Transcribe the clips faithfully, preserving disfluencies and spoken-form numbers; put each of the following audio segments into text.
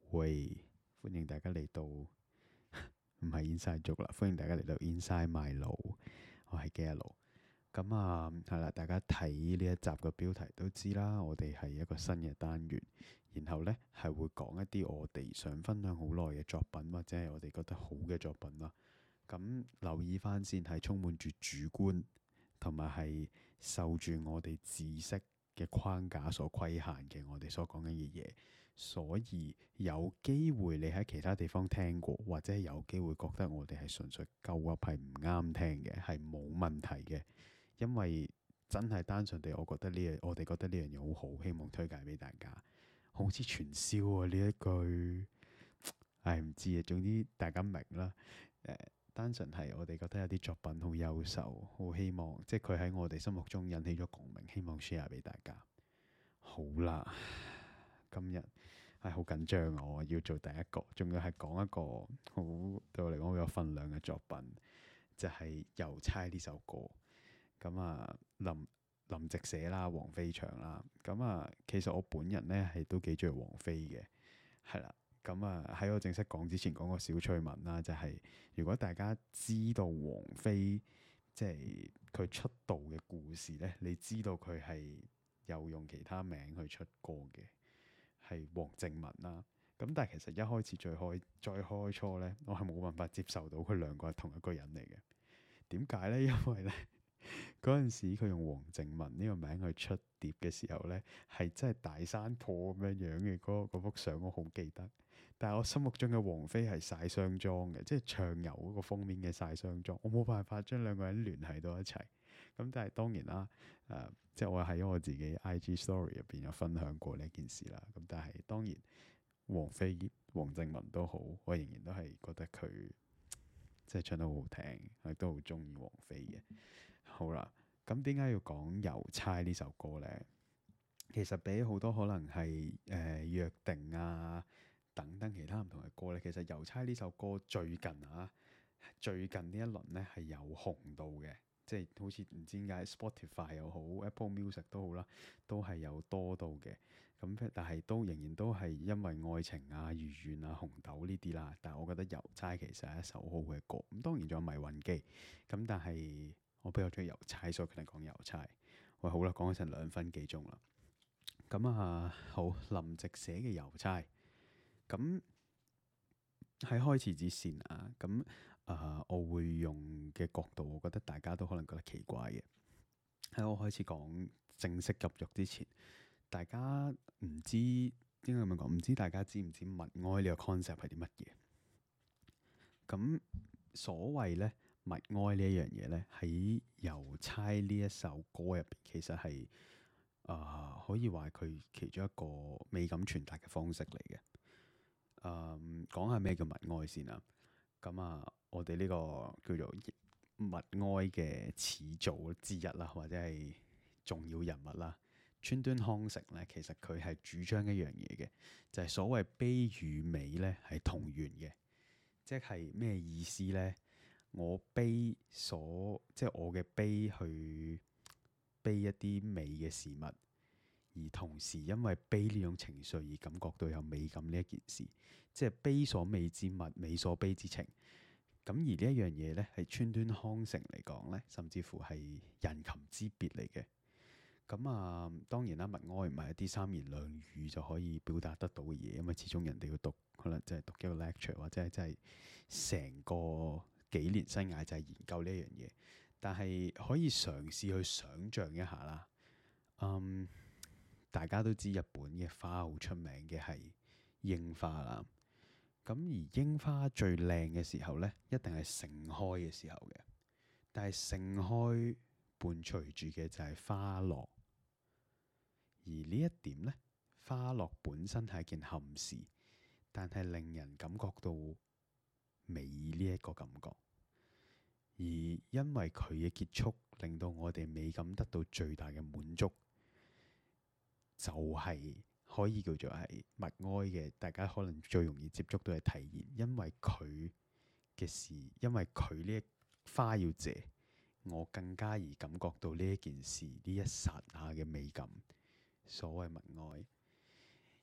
喂，歡迎大家嚟到，唔係 Inside Joke 啦，歡迎大家嚟到 Inside My 腦，我係 Gallo。咁啊，係啦，大家睇呢一集嘅標題都知啦，我哋係一個新嘅單元，然後呢係會講一啲我哋想分享好耐嘅作品，或者係我哋覺得好嘅作品啦。咁留意翻先，係充滿住主觀，同埋係受住我哋知識嘅框架所規限嘅，我哋所講緊嘅嘢。所以有機會你喺其他地方聽過，或者有機會覺得我哋係純粹鳩噏，係唔啱聽嘅，係冇問題嘅。因為真係單純地，我覺得呢樣，我哋覺得呢樣嘢好好，希望推介俾大家。好似傳銷啊呢一句，唉唔知啊，總之大家明啦。誒、呃，單純係我哋覺得有啲作品好優秀，好希望即係佢喺我哋心目中引起咗共鳴，希望 share 俾大家。好啦，今日係好緊張啊！我要做第一個，仲要係講一個好對我嚟講好有分量嘅作品，就係、是《郵差》呢首歌。咁啊，林林夕寫啦，王菲唱啦。咁啊，其實我本人咧係都幾中意王菲嘅，係啦。咁啊，喺我正式講之前，講個小趣聞啦，就係、是、如果大家知道王菲即係佢出道嘅故事咧，你知道佢係有用其他名去出歌嘅，係黃靖雯啦。咁但係其實一開始最開再開初咧，我係冇辦法接受到佢兩個係同一個人嚟嘅。點解咧？因為咧。嗰陣時佢用黃靖雯呢個名去出碟嘅時候呢，係真係大山坡咁樣樣嘅嗰嗰幅相，我好記得。但係我心目中嘅王菲係晒雙裝嘅，即係唱遊嗰個封面嘅晒雙裝，我冇辦法將兩個人聯繫到一齊。咁但係當然啦，誒、呃，即係我喺我自己 I G Story 入邊有分享過呢件事啦。咁但係當然，王菲、黃靖雯都好，我仍然都係覺得佢即係唱得好好聽，我亦都好中意王菲嘅。好啦，咁點解要講郵差呢首歌呢？其實比好多可能係誒、呃、約定啊等等其他唔同嘅歌呢，其實郵差呢首歌最近啊，最近呢一輪呢係有紅到嘅，即係好似唔知點解 Spotify 又好 Apple Music 都好啦，都係有多到嘅。咁但係都仍然都係因為愛情啊、如願啊、紅豆呢啲啦。但係我覺得郵差其實係一首好嘅歌。咁當然仲有迷魂機，咁但係。我比較中意郵差，所以決定講郵差。喂，好啦，講咗成兩分幾鐘啦。咁啊，好，林夕寫嘅郵差。咁喺開始之前啊，咁啊，我會用嘅角度，我覺得大家都可能覺得奇怪嘅。喺我開始講正式入獄之前，大家唔知應該咁樣講，唔知大家知唔知物哀呢個 concept 係啲乜嘢？咁所謂咧。物哀呢一樣嘢咧，喺郵差呢一首歌入邊，其實係啊、呃，可以話佢其中一個美感傳達嘅方式嚟嘅。誒、呃，講下咩叫物哀先啦。咁啊，我哋呢個叫做物哀嘅始祖之一啦，或者係重要人物啦，川端康成咧，其實佢係主張一樣嘢嘅，就係、是、所謂悲與美咧係同源嘅，即係咩意思咧？我悲所即係我嘅悲去悲一啲美嘅事物，而同時因為悲呢種情緒而感覺到有美感呢一件事，即係悲所美之物，美所悲之情。咁而呢一樣嘢咧，係川端康成嚟講咧，甚至乎係人禽之別嚟嘅。咁啊，當然啦，物哀唔係一啲三言兩語就可以表達得到嘅嘢，因為始終人哋要讀，可能即係讀一個 lecture 或者係真係成個。幾年生涯就係研究呢一樣嘢，但係可以嘗試去想像一下啦。嗯，大家都知日本嘅花好出名嘅係櫻花啦。咁而櫻花最靚嘅時候呢，一定係盛開嘅時候嘅。但係盛開伴隨住嘅就係花落，而呢一點呢，花落本身係一件憾事，但係令人感覺到美呢一個感覺，而因為佢嘅結束，令到我哋美感得到最大嘅滿足，就係、是、可以叫做係物哀嘅。大家可能最容易接觸到嘅體驗，因為佢嘅事，因為佢呢一花要謝，我更加而感覺到呢一件事呢一剎那嘅美感。所謂物哀，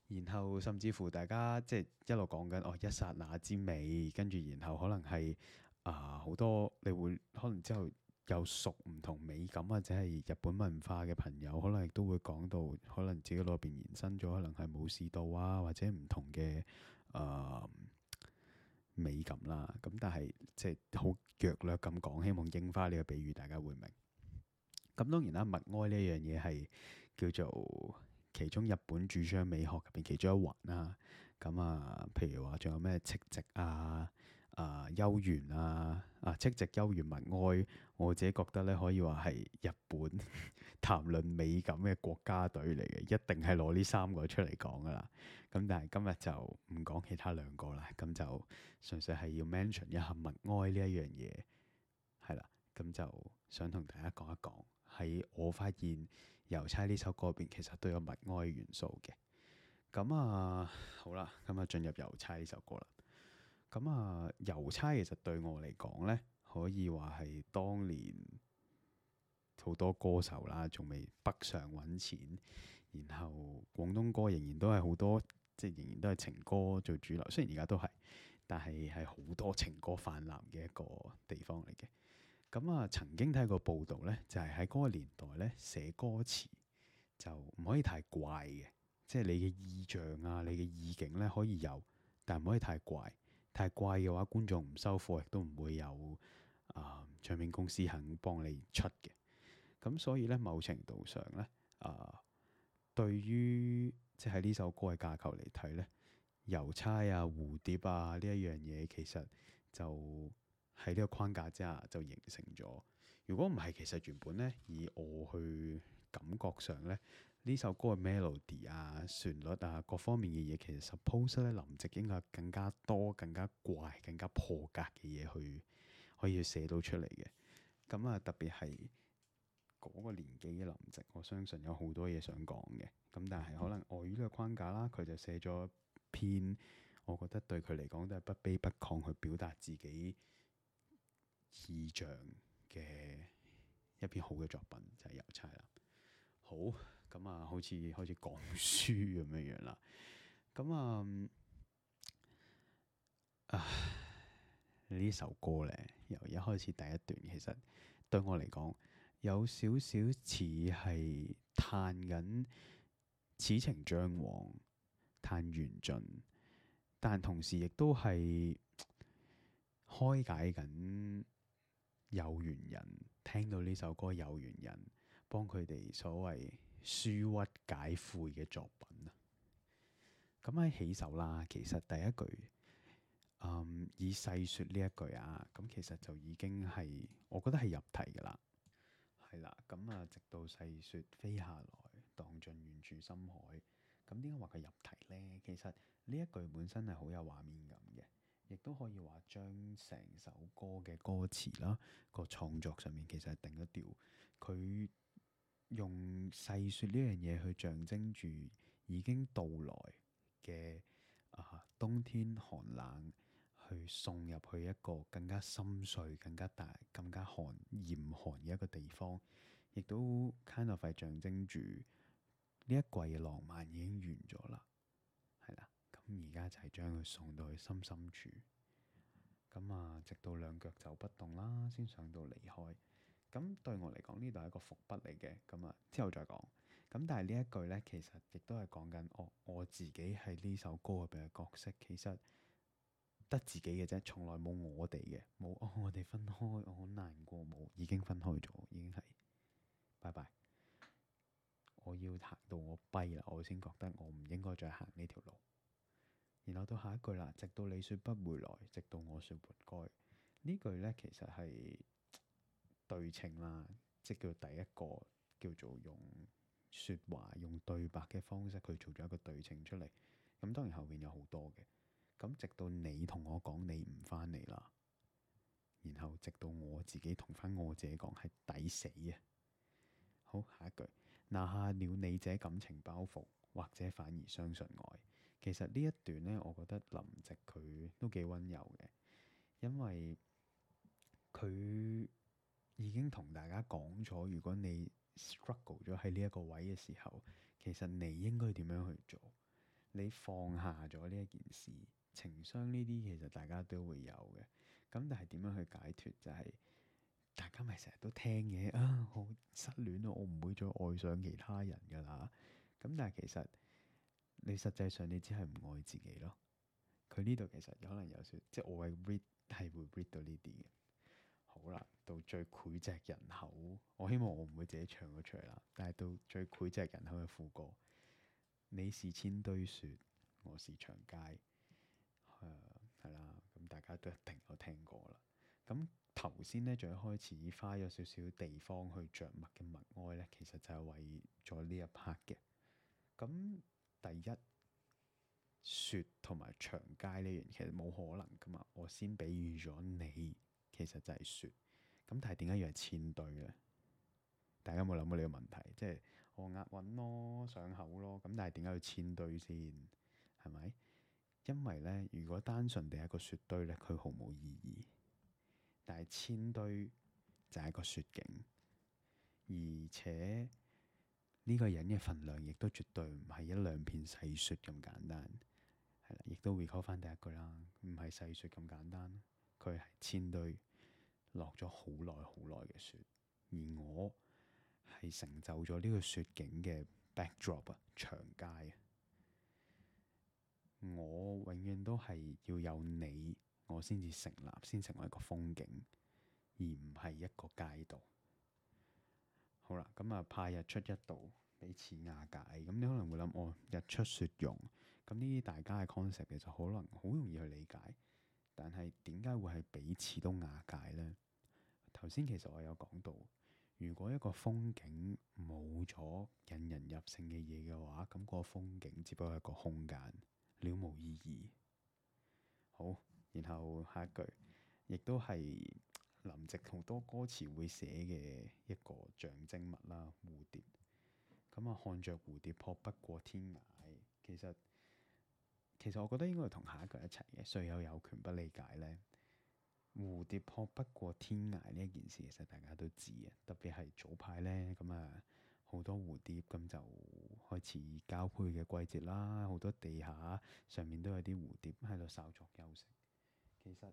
然後甚至乎大家即係一路講緊哦一剎那之美，跟住然後可能係啊好多你會可能之後有熟唔同美感或者係日本文化嘅朋友，可能亦都會講到可能自己嗰邊延伸咗，可能係武士道啊或者唔同嘅啊、呃、美感啦。咁但係即係好弱略咁講，希望櫻花呢個比喻大家會明。咁當然啦，默哀呢一樣嘢係叫做其中日本主張美學入邊其中一環啦。咁啊，譬如話仲有咩戚夕啊、啊幽玄啊、啊戚夕幽玄默哀，我自己覺得咧可以話係日本談論美感嘅國家隊嚟嘅，一定係攞呢三個出嚟講噶啦。咁但係今日就唔講其他兩個啦，咁就純粹係要 mention 一下默哀呢一樣嘢，係啦。咁就想同大家講一講，喺我發現郵差呢首歌入邊其實都有默哀元素嘅。咁啊，好啦，咁啊進入郵差呢首歌啦。咁啊，郵差其實對我嚟講咧，可以話係當年好多歌手啦，仲未北上揾錢，然後廣東歌仍然都係好多，即係仍然都係情歌做主流。雖然而家都係，但係係好多情歌泛濫嘅一個地方嚟嘅。咁啊，曾經睇過報道咧，就係喺嗰個年代咧，寫歌詞就唔可以太怪嘅，即係你嘅意象啊，你嘅意境咧可以有，但唔可以太怪。太怪嘅話，觀眾唔收貨，亦都唔會有啊、呃、唱片公司肯幫你出嘅。咁所以咧，某程度上咧，啊、呃，對於即係呢首歌嘅架構嚟睇咧，郵差啊、蝴蝶啊呢一樣嘢，其實就喺呢個框架之下就形成咗。如果唔係，其實原本咧，以我去感覺上咧，呢首歌嘅 melody 啊、旋律啊各方面嘅嘢，其實 suppose 咧林夕應該更加多、更加怪、更加破格嘅嘢去可以去寫到出嚟嘅。咁啊，特別係嗰個年紀嘅林夕，我相信有好多嘢想講嘅。咁但係可能礙於呢個框架啦，佢就寫咗篇，我覺得對佢嚟講都係不卑不亢去表達自己意象嘅一篇好嘅作品，就係、是《郵差》啦。好，咁啊，好似開始講書咁樣樣啦。咁啊，啊呢首歌咧，由一開始第一段，其實對我嚟講，有少少似係嘆緊此情將往，嘆緣盡，但同時亦都係開解緊有緣人聽到呢首歌，有緣人幫佢哋所謂舒鬱解悔嘅作品啊。咁喺起手啦，其實第一句，嗯，以細說呢一句啊，咁其實就已經係我覺得係入題噶啦，係啦。咁啊，直到細說飛下來，蕩進遠處深海。咁點解話佢入題呢？其實呢一句本身係好有畫面感嘅，亦都可以話將成首歌嘅歌詞啦，個創作上面其實係定咗調。佢用細說呢樣嘢去象徵住已經到來嘅啊冬天寒冷，去送入去一個更加深邃、更加大、更加寒嚴寒嘅一個地方，亦都 kind of 係象徵住呢一季嘅浪漫已經完咗啦，係啦。咁而家就係將佢送到去深深處，咁啊，直到兩腳走不動啦，先上到離開。咁對我嚟講，呢度係一個伏筆嚟嘅，咁啊之後再講。咁但係呢一句咧，其實亦都係講緊我我自己喺呢首歌入邊嘅角色，其實得自己嘅啫，從來冇我哋嘅，冇哦我哋分開，我好難過，冇，已經分開咗，已經係拜拜。我要行到我跛啦，我先覺得我唔應該再行呢條路。然後到下一句啦，直到你說不回來，直到我說活該。呢句咧其實係對稱啦，即叫第一個叫做用説話、用對白嘅方式去做咗一個對稱出嚟。咁當然後面有好多嘅。咁直到你同我講你唔返嚟啦，然後直到我自己同返我自己講係抵死啊！好，下一句，拿下了你這感情包袱，或者反而相信愛。其實呢一段呢，我覺得林夕佢都幾溫柔嘅，因為佢已經同大家講咗，如果你 struggle 咗喺呢一個位嘅時候，其實你應該點樣去做？ 你放下咗呢一件事，情商呢啲其實大家都會有嘅。咁但係點樣去解決？就係、是、大家咪成日都聽嘅啊，我失戀咯，我唔會再愛上其他人噶啦。咁但係其實你實際上你只係唔愛自己咯。佢呢度其實可能有少，即係我係 read 係會 read 到呢啲嘅。好啦，到最膾炙人口，我希望我唔會自己唱咗出嚟啦。但係到最膾炙人口嘅副歌，你是千堆雪，我是長街，誒、呃、係啦。咁大家都一定有聽過啦。咁頭先咧，最開始花咗少少地方去着墨嘅默哀咧，其實就係為咗呢一 part 嘅。咁第一，雪同埋長街呢樣其實冇可能噶嘛。我先比喻咗你，其實就係雪。咁但係點解要係千堆咧？大家有冇諗過呢個問題？即係我押韻咯，上口咯。咁但係點解要千堆先？係咪？因為咧，如果單純地係一個雪堆咧，佢毫無意義。但係千堆就係一個雪景，而且呢個人嘅份量亦都絕對唔係一兩片細雪咁簡單。係啦，亦都 recall 翻第一句啦，唔係細雪咁簡單，佢係千堆落咗好耐好耐嘅雪，而我係成就咗呢個雪景嘅 backdrop 啊，長街啊。我永遠都係要有你，我先至成立，先成為一個風景，而唔係一個街道。好啦，咁啊，怕日出一度，彼此瓦解。咁你可能會諗，哦，日出雪融，咁呢啲大家嘅 concept 其實可能好容易去理解。但係點解會係彼此都瓦解呢？頭先其實我有講到，如果一個風景冇咗引人入勝嘅嘢嘅話，咁個風景只不過係一個空間，了無意義。好，然後下一句，亦都係林夕好多歌詞會寫嘅一個象徵物啦，蝴蝶。咁啊，看着蝴蝶撲不過天涯。其實其實我覺得應該係同下一句一齊嘅。誰又有權不理解呢？蝴蝶撲不過天涯呢一件事，其實大家都知嘅。特別係早排呢，咁啊好多蝴蝶咁就開始交配嘅季節啦。好多地下上面都有啲蝴蝶喺度稍作休息。其實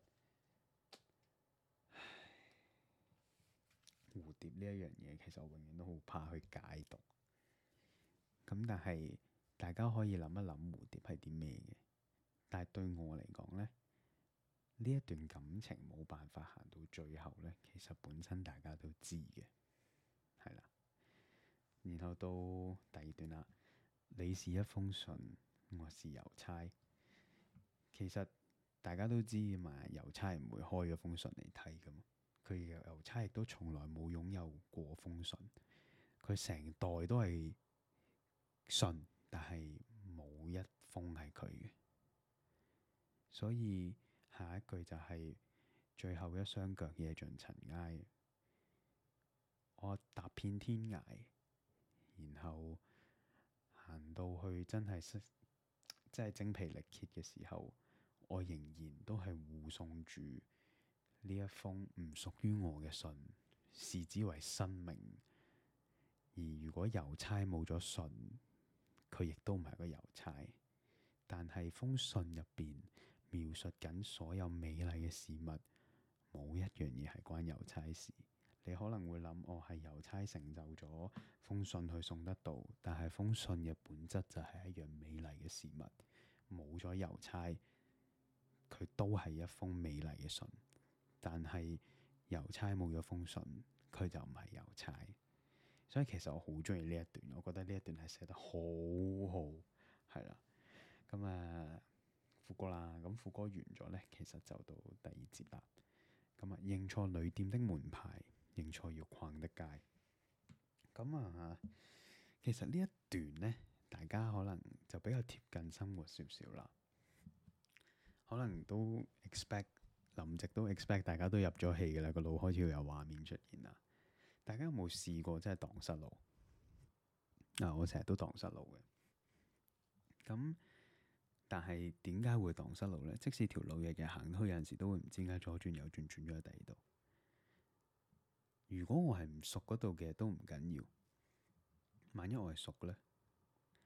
蝴蝶呢一樣嘢，其實我永遠都好怕去解讀。咁但係大家可以諗一諗蝴蝶係啲咩嘅？但係對我嚟講呢，呢一段感情冇辦法行到最後呢，其實本身大家都知嘅，係啦。然後到第二段啦，你是一封信，我是郵差。其實大家都知嘅嘛，郵差唔會開咗封信嚟睇噶嘛。佢嘅郵差亦都從來冇擁有過封信，佢成袋都係信，但係冇一封係佢嘅。所以下一句就係、是、最後一雙腳惹盡塵埃，我踏遍天涯，然後行到去真係識，真係精疲力竭嘅時候，我仍然都係護送住呢一封唔屬於我嘅信，視之為生命。而如果郵差冇咗信，佢亦都唔係個郵差。但係封信入邊描述緊所有美麗嘅事物，冇一樣嘢係關郵差事。你可能會諗，哦，係郵差成就咗封信去送得到，但係封信嘅本質就係一樣美麗嘅事物。冇咗郵差，佢都係一封美麗嘅信。但係郵差冇咗封信，佢就唔係郵差。所以其實我好中意呢一段，我覺得呢一段係寫得好好，係啦。咁啊，副歌啦，咁副歌完咗咧，其實就到第二節啦。咁啊，認錯旅店的門牌，認錯搖晃的街。咁啊，其實呢一段咧，大家可能就比較貼近生活少少啦。可能都 expect 林夕都 expect 大家都入咗戲嘅啦，個腦開始會有畫面出現啦。大家有冇試過真係蕩失路？嗱、啊，我成日都蕩失路嘅。咁但係點解會蕩失路咧？即使條路日日行，都有陣時都會唔知點解左轉右轉轉咗喺第二度。如果我係唔熟嗰度嘅都唔緊要，萬一我係熟嘅咧，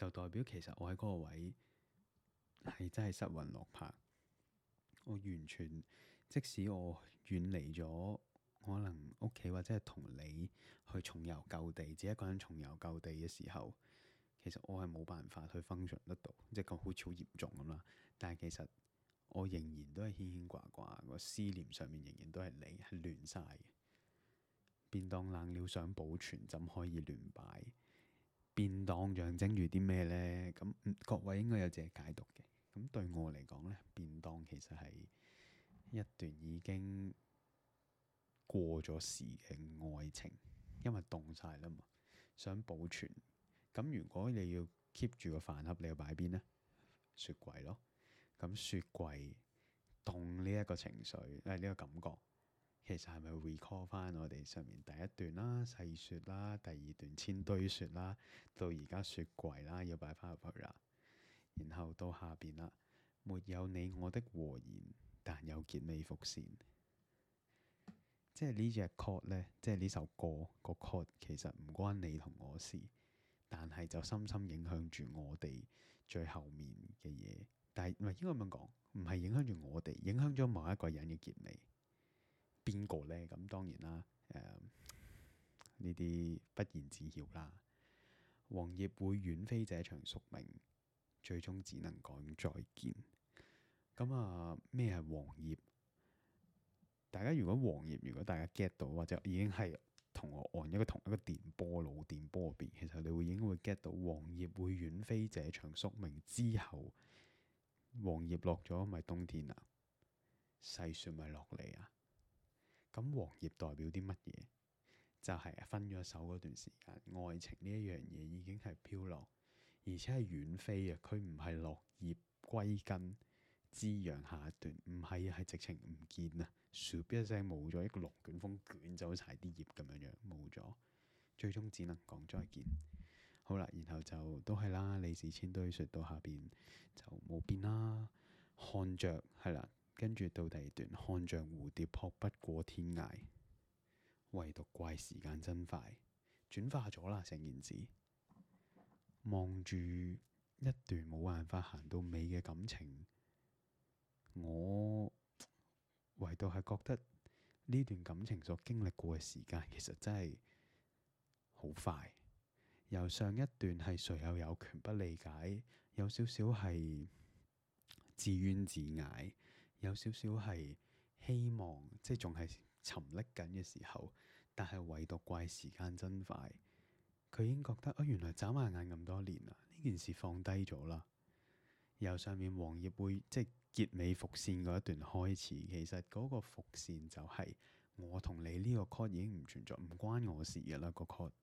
就代表其實我喺嗰個位係真係失魂落魄。我完全，即使我遠離咗可能屋企或者係同你去重遊舊地，自己一個人重遊舊地嘅時候，其實我係冇辦法去 function 得到，即係個好似好嚴重咁啦。但係其實我仍然都係牽牽掛掛，個思念上面仍然都係你，係亂晒嘅。便當冷了想保存，怎可以亂擺？便當象徵住啲咩呢？咁各位應該有自己解讀嘅。咁對我嚟講呢，便當其實係一段已經過咗時嘅愛情，因為凍晒啦嘛，想保存。咁如果你要 keep 住個飯盒，你要擺邊呢？雪櫃咯。咁雪櫃凍呢一個情緒，誒、呃、呢、呢個感覺，其實係咪 recall 翻我哋上面第一段啦，細雪啦，第二段千堆雪啦，到而家雪櫃啦，要擺翻入去啦，然後到下邊啦，沒有你我的和言，但有結尾伏線。即係呢隻 chord 咧，即係呢首歌個 chord 其實唔關你同我事，但係就深深影響住我哋最後面嘅嘢。但係唔係應該咁樣講，唔係影響住我哋，影響咗某一個人嘅結尾。邊個呢？咁當然啦，誒呢啲不言自曉啦。黃葉會遠飛這場宿命，最終只能講再見。咁啊，咩係黃葉？大家如果黃葉，如果大家 get 到，或者已經係同我按一個同一個電波腦電波入邊，其實你會已經會 get 到黃葉會遠飛這場宿命之後，黃葉落咗咪冬天啊，細雪咪落嚟啊。咁黃葉代表啲乜嘢？就係、是、分咗手嗰段時間，愛情呢一樣嘢已經係飄落，而且係遠飛啊！佢唔係落葉歸根滋養下一段，唔係係直情唔見啊！咻一聲冇咗，一個龍捲風捲走晒啲葉咁樣樣冇咗，最終只能講再見。好啦，然後就都係啦，你是千堆雪到下邊就冇變啦。看着係啦。跟住到第二段，看像蝴蝶撲不過天涯，唯獨怪時間真快，轉化咗啦成件事。望住一段冇辦法行到尾嘅感情，我唯獨係覺得呢段感情所經歷過嘅時間，其實真係好快。由上一段係誰又有權不理解，有少少係自怨自艾。有少少係希望，即係仲係沉溺緊嘅時候，但係唯獨怪時間真快。佢已經覺得啊、哦，原來眨下眼咁多年啦，呢件事放低咗啦。由上面黃葉會即係結尾伏線嗰一段開始，其實嗰個伏線就係我同你呢個 chord 已經唔存在，唔關我事嘅啦個 chord。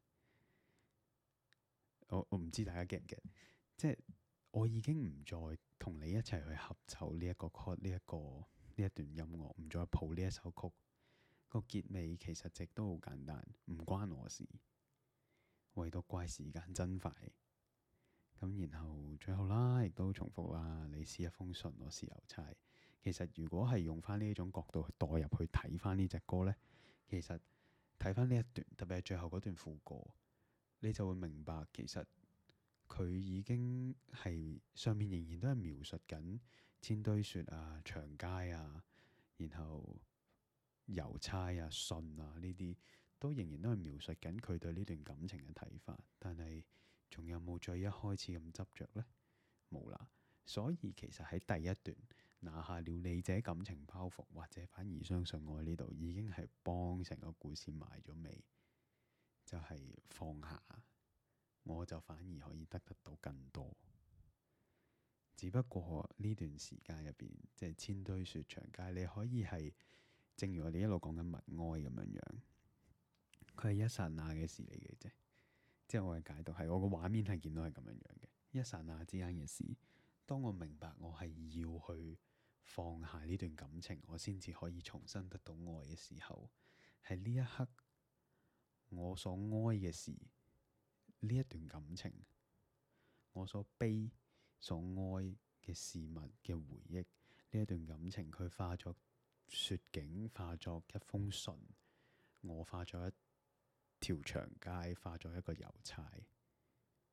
我我唔知大家 get 唔 get，即係。我已經唔再同你一齊去合奏呢一個 chord，呢一個呢一段音樂，唔再譜呢一首曲。個結尾其實直都好簡單，唔關我事，唯獨怪時間真快。咁然後最後啦，亦都重複啦。你是一封信，我是郵差。其實如果係用翻呢一種角度去代入去睇翻呢隻歌呢，其實睇翻呢一段，特別係最後嗰段副歌，你就會明白其實。佢已經係上面仍然都係描述緊千堆雪啊、長街啊，然後郵差啊、信啊呢啲，都仍然都係描述緊佢對呢段感情嘅睇法。但係仲有冇再一開始咁執着呢？冇啦。所以其實喺第一段拿下了你這感情包袱，或者反而相信我呢度已經係幫成個故事埋咗尾，就係、是、放下。我就反而可以得得到更多，只不過呢段時間入邊，即係千堆雪長街，你可以係正如我哋一路講緊默哀咁樣樣，佢係一剎那嘅事嚟嘅啫。即係我嘅解讀係，我個畫面係見到係咁樣樣嘅，一剎那之間嘅事。當我明白我係要去放下呢段感情，我先至可以重新得到愛嘅時候，係呢一刻我所哀嘅事。呢一段感情，我所悲所哀嘅事物嘅回憶，呢一段感情，佢化作雪景，化作一封信，我化作一條長街，化作一個郵差。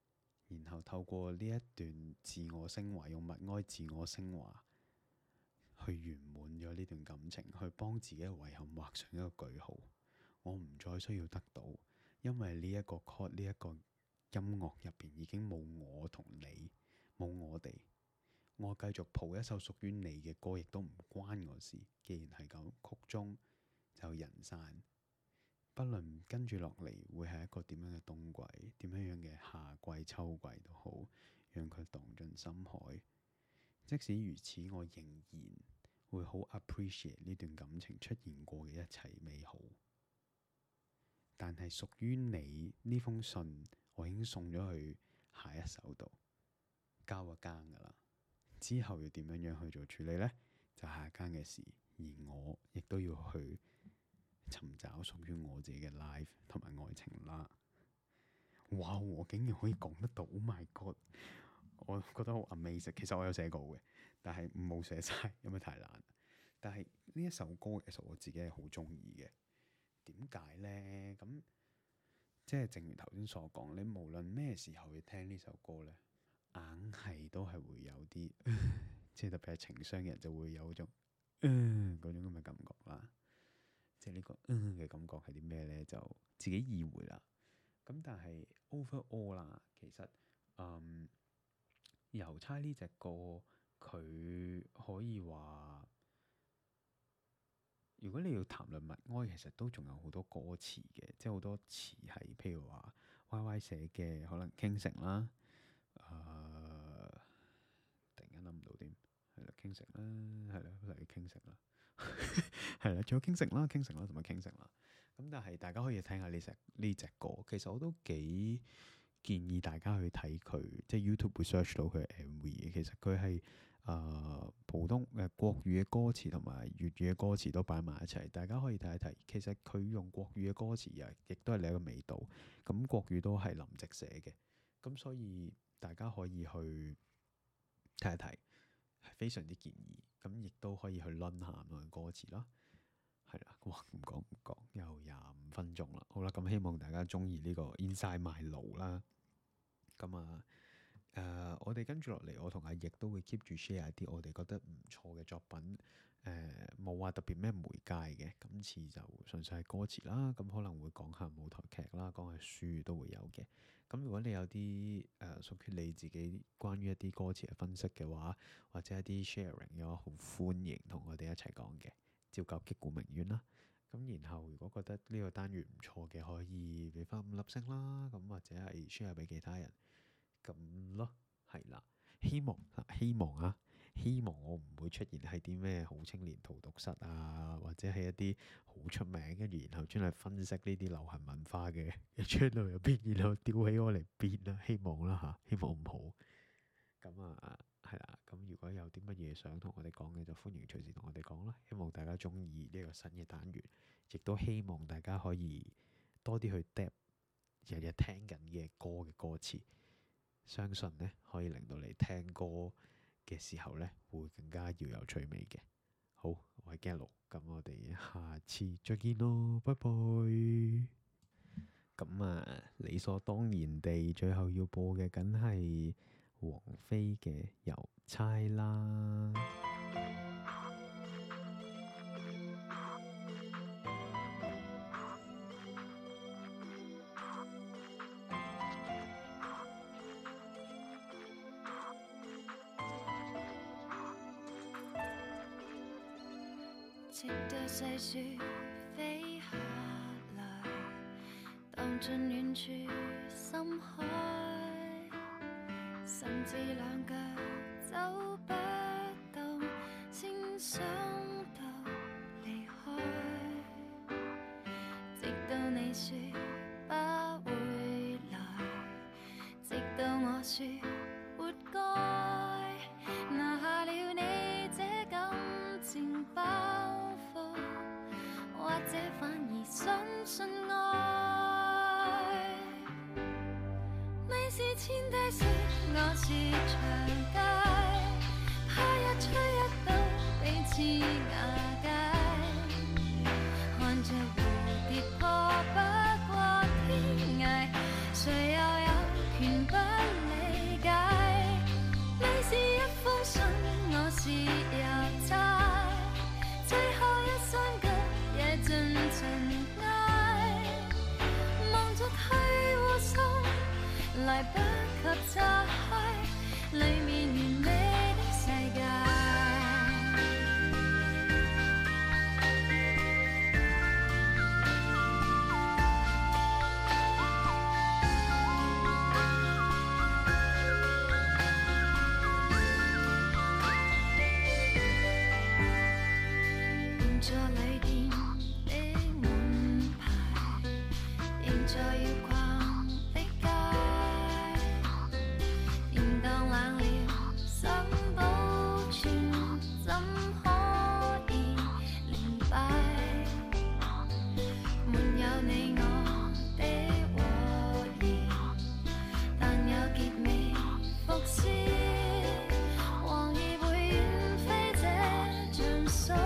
然後透過呢一段自我升華，用默哀自我升華去圓滿咗呢段感情，去幫自己嘅遺憾畫上一個句號。我唔再需要得到，因為呢一個 chord 呢一個音樂入邊已經冇我同你，冇我哋。我繼續譜一首屬於你嘅歌，亦都唔關我事。既然係咁，曲終就人散。不論跟住落嚟會係一個點樣嘅冬季，點樣樣嘅夏季、秋季都好，讓佢蕩進深海。即使如此，我仍然會好 appreciate 呢段感情出現過嘅一切美好。但係屬於你呢封信，我已經送咗去下一手度，交咗更噶啦。之後要點樣樣去做處理呢？就下一間嘅事，而我亦都要去尋找屬於我自己嘅 life 同埋愛情啦。哇！我竟然可以講得到 ，Oh my god！我覺得好 amazing。其實我有寫稿嘅，但係冇寫晒，因為太難。但係呢一首歌其實我自己係好中意嘅。點解呢？咁即係正如頭先所講，你無論咩時候去聽呢首歌呢，硬係都係會有啲，即係特別係情傷嘅人就會有種嗯嗰種咁嘅感覺啦。即係呢個嗯嘅感覺係啲咩呢？就自己意會啦。咁但係 overall 啦，其實嗯郵差呢隻歌佢可以話，如果你要談論默哀，其實都仲有好多歌詞嘅，即係好多詞係譬如話 Y Y 寫嘅，可能傾城啦，誒、呃、突然間諗唔到添，係啦傾城啦，係啦例如傾城啦，係啦，仲有傾城啦、傾城啦同埋傾城啦。咁但係大家可以聽下呢隻呢隻歌，其實我都幾建議大家去睇佢，即係 YouTube 會 search 到佢嘅 M V 嘅。其實佢係誒普通誒、呃、國語嘅歌詞同埋粵語嘅歌詞都擺埋一齊，大家可以睇一睇。其實佢用國語嘅歌詞啊，亦都係另一個味道。咁國語都係林夕寫嘅，咁所以大家可以去睇一睇，係非常之建議。咁亦都可以去 learn 下唔同嘅歌詞啦。係啦，哇！唔講唔講，又廿五分鐘啦。好啦，咁希望大家中意呢個 Inside My Low 啦。咁啊，誒、呃，我哋跟住落嚟，我同阿奕都會 keep 住 share 一啲我哋覺得唔錯嘅作品。誒、呃，冇話特別咩媒介嘅，今次就純粹係歌詞啦。咁可能會講下舞台劇啦，講下書都會有嘅。咁如果你有啲誒、呃、屬於你自己關於一啲歌詞嘅分析嘅話，或者一啲 sharing 嘅話，好歡迎同我哋一齊講嘅。照舊擊鼓鳴冤啦，咁然後如果覺得呢個單元唔錯嘅，可以俾翻五粒星啦，咁或者係 share 俾其他人咁咯，係啦。希望希望啊，希望我唔會出現喺啲咩好青年荼毒室啊，或者係一啲好出名跟住然後專係分析呢啲流行文化嘅 channel 入邊，然後吊起我嚟編啦。希望啦嚇，希望唔好。咁啊，係啦。咁如果有啲乜嘢想同我哋講嘅，就歡迎隨時同我哋講啦。希望大家中意呢個新嘅單元，亦都希望大家可以多啲去 dap 日日聽緊嘅歌嘅歌詞，相信呢可以令到你聽歌嘅時候呢會更加要有趣味嘅。好，我係 Gallo，咁我哋下次再見咯，拜拜。咁啊，理所當然地，最後要播嘅梗係王菲嘅郵差啦。 直到細雪飛下來，蕩進遠處深海，甚至兩腳走不動，先想到離開。直到你說不會來，直到我說活該，拿下了你這感情包袱，或者反而相信愛。你是千低雪，我是長街，他一吹一倒，彼此瓦解。看着蝴蝶破不過天涯，誰又有權不理？ 怎可以連敗？沒有你我的和諧，但有結尾伏線，黃葉會遠飛這場水。